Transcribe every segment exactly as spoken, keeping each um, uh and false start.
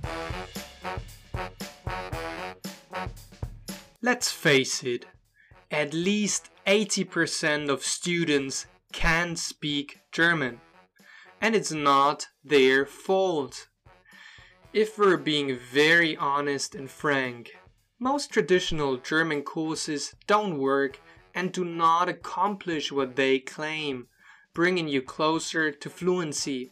Let's face it, at least eighty percent of students can't speak German, and it's not their fault. If we're being very honest and frank, most traditional German courses don't work and do not accomplish what they claim, bringing you closer to fluency.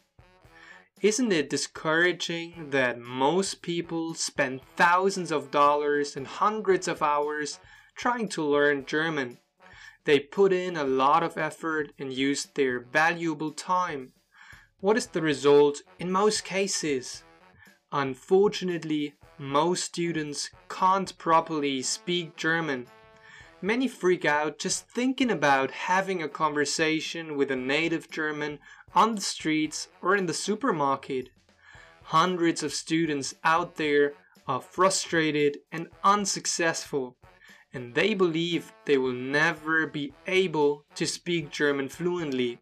Isn't it discouraging that most people spend thousands of dollars and hundreds of hours trying to learn German? They put in a lot of effort and use their valuable time. What is the result in most cases? Unfortunately, most students can't properly speak German. Many freak out just thinking about having a conversation with a native German on the streets or in the supermarket. Hundreds of students out there are frustrated and unsuccessful, and they believe they will never be able to speak German fluently.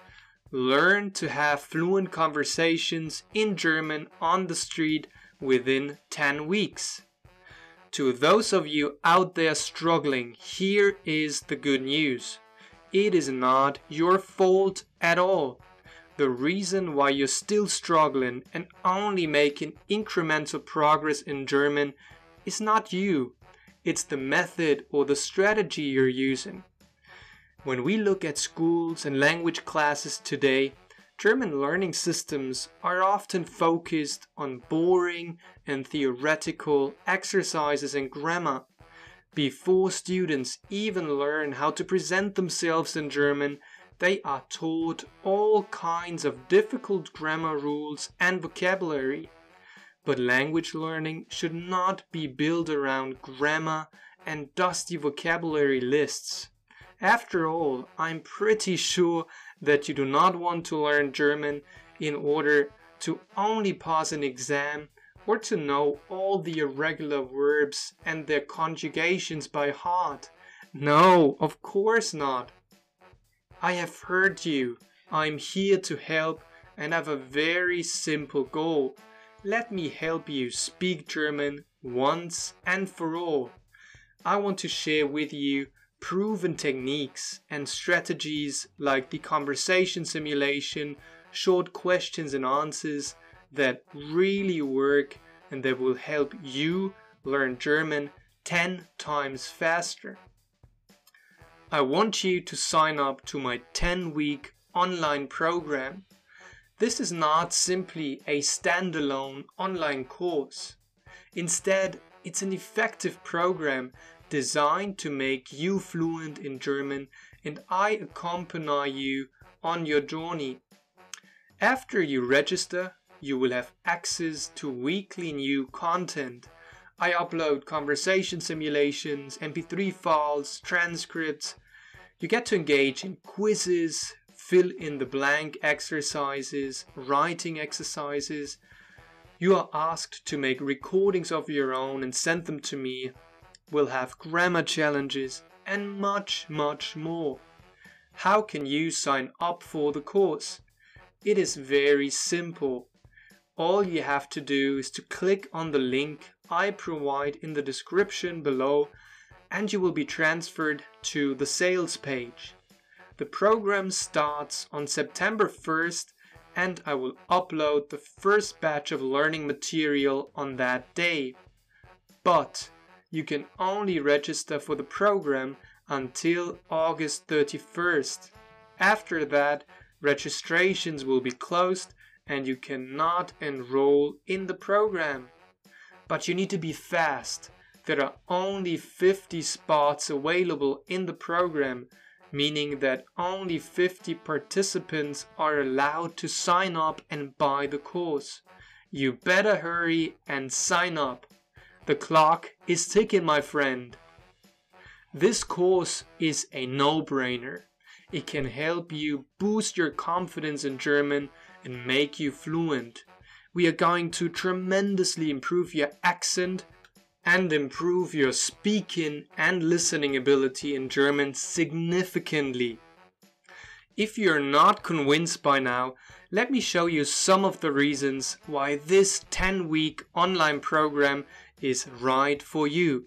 Learn to have fluent conversations in German on the street within ten weeks. To those of you out there struggling, here is the good news. It is not your fault at all. The reason why you're still struggling and only making incremental progress in German is not you. It's the method or the strategy you're using. When we look at schools and language classes today, German learning systems are often focused on boring and theoretical exercises in grammar. Before students even learn how to present themselves in German, they are taught all kinds of difficult grammar rules and vocabulary. But language learning should not be built around grammar and dusty vocabulary lists. After all, I'm pretty sure that you do not want to learn German in order to only pass an exam or to know all the irregular verbs and their conjugations by heart. No, of course not. I have heard you. I'm here to help and have a very simple goal. Let me help you speak German once and for all. I want to share with you proven techniques and strategies like the conversation simulation, short questions and answers that really work and that will help you learn German ten times faster. I want you to sign up to my ten week online program. This is not simply a standalone online course. Instead, it's an effective program designed to make you fluent in German, and I accompany you on your journey. After you register, you will have access to weekly new content. I upload conversation simulations, M P three files, transcripts. You get to engage in quizzes, fill in the blank exercises, writing exercises. You are asked to make recordings of your own and send them to me. We'll have grammar challenges and much, much more. How can you sign up for the course? It is very simple. All you have to do is to click on the link I provide in the description below and you will be transferred to the sales page. The program starts on September first and I will upload the first batch of learning material on that day. But you can only register for the program until August thirty-first. After that, registrations will be closed and you cannot enroll in the program. But you need to be fast. There are only fifty spots available in the program, meaning that only fifty participants are allowed to sign up and buy the course. You better hurry and sign up. The clock is ticking, my friend. This course is a no-brainer. It can help you boost your confidence in German and make you fluent. We are going to tremendously improve your accent and improve your speaking and listening ability in German significantly. If you're not convinced by now, let me show you some of the reasons why this ten week online program is right for you.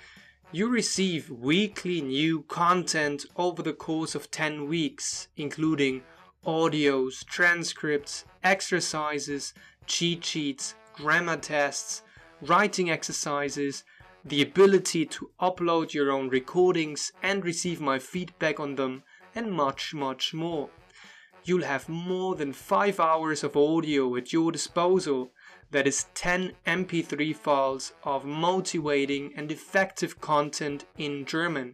You receive weekly new content over the course of ten weeks, including audios, transcripts, exercises, cheat sheets, grammar tests, writing exercises, the ability to upload your own recordings and receive my feedback on them, and much, much more. You'll have more than five hours of audio at your disposal. That is ten M P three files of motivating and effective content in German.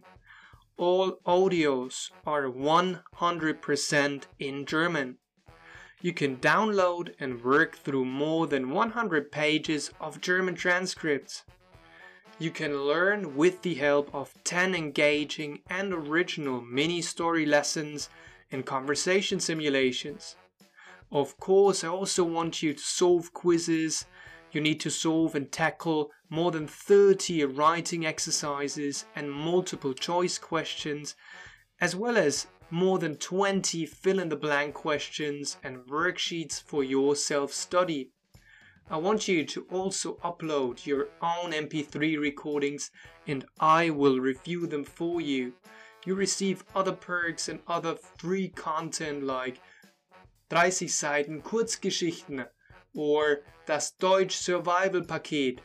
All audios are one hundred percent in German. You can download and work through more than one hundred pages of German transcripts. You can learn with the help of ten engaging and original mini-story lessons and conversation simulations. Of course, I also want you to solve quizzes. You need to solve and tackle more than thirty writing exercises and multiple choice questions, as well as more than twenty fill-in-the-blank questions and worksheets for your self-study. I want you to also upload your own M P three recordings and I will review them for you. You receive other perks and other free content like dreißig Seiten Kurzgeschichten or das Deutsch Survival Paket.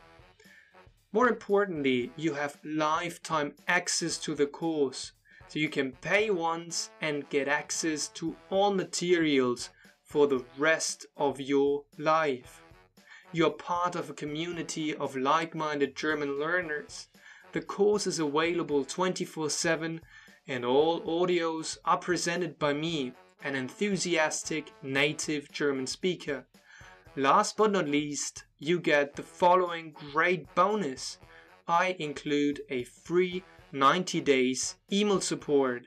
More importantly, you have lifetime access to the course, so you can pay once and get access to all materials for the rest of your life. You are part of a community of like-minded German learners. The course is available twenty-four seven and all audios are presented by me, an enthusiastic native German speaker. Last but not least, you get the following great bonus. I include a free ninety days email support.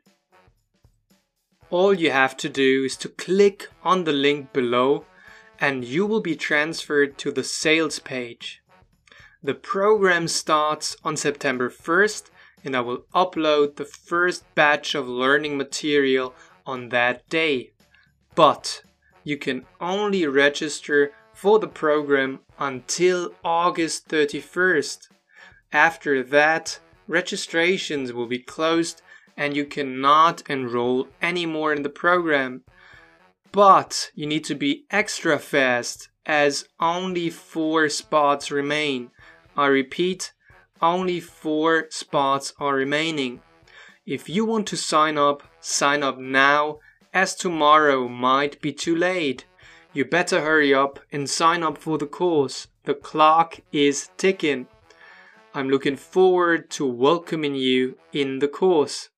All you have to do is to click on the link below and you will be transferred to the sales page. The program starts on September first and I will upload the first batch of learning material on that day. But you can only register for the program until August thirty-first. After that, registrations will be closed and you cannot enroll anymore in the program. But you need to be extra fast as only four spots remain. I repeat, only four spots are remaining. If you want to sign up, sign up now, as tomorrow might be too late. You better hurry up and sign up for the course. The clock is ticking. I'm looking forward to welcoming you in the course.